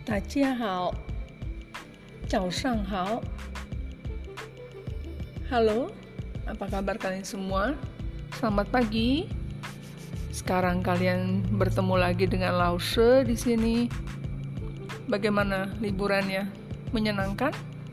大家好，早上好. Halo, apa kabar kalian semua? Selamat pagi. Sekarang kalian bertemu lagi dengan Lause di sini. Bagaimana liburannya? Menyenangkan?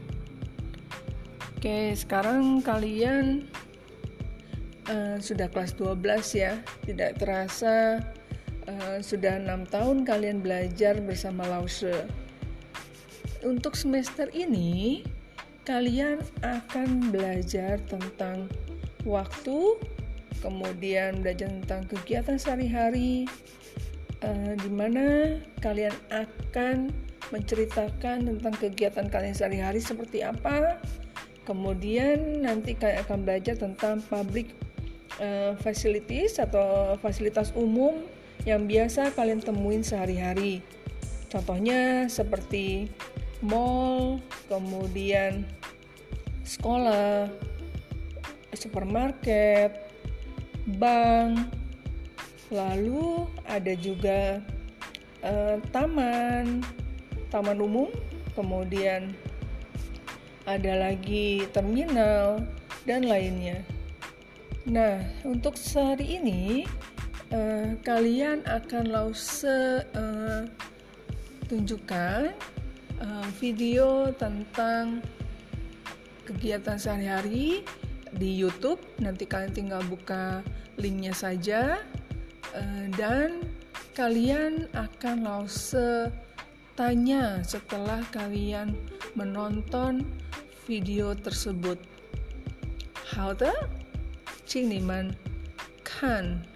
Oke, sekarang kalian sudah kelas 12 ya. Tidak terasa sudah 6 tahun kalian belajar bersama Lause. Untuk semester ini, kalian akan belajar tentang waktu, kemudian belajar tentang kegiatan sehari-hari, di mana kalian akan menceritakan tentang kegiatan kalian sehari-hari seperti apa. Kemudian nanti kalian akan belajar tentang public facilities atau fasilitas umum yang biasa kalian temuin sehari-hari. Contohnya seperti mall, kemudian sekolah, supermarket, bank, lalu ada juga taman umum, kemudian ada lagi terminal dan lainnya. Nah, untuk sehari ini kalian akan Lause tunjukkan video tentang kegiatan sehari-hari di YouTube. Nanti kalian tinggal buka linknya saja, dan kalian akan Lause tanya setelah kalian menonton video tersebut. 好的，请你们看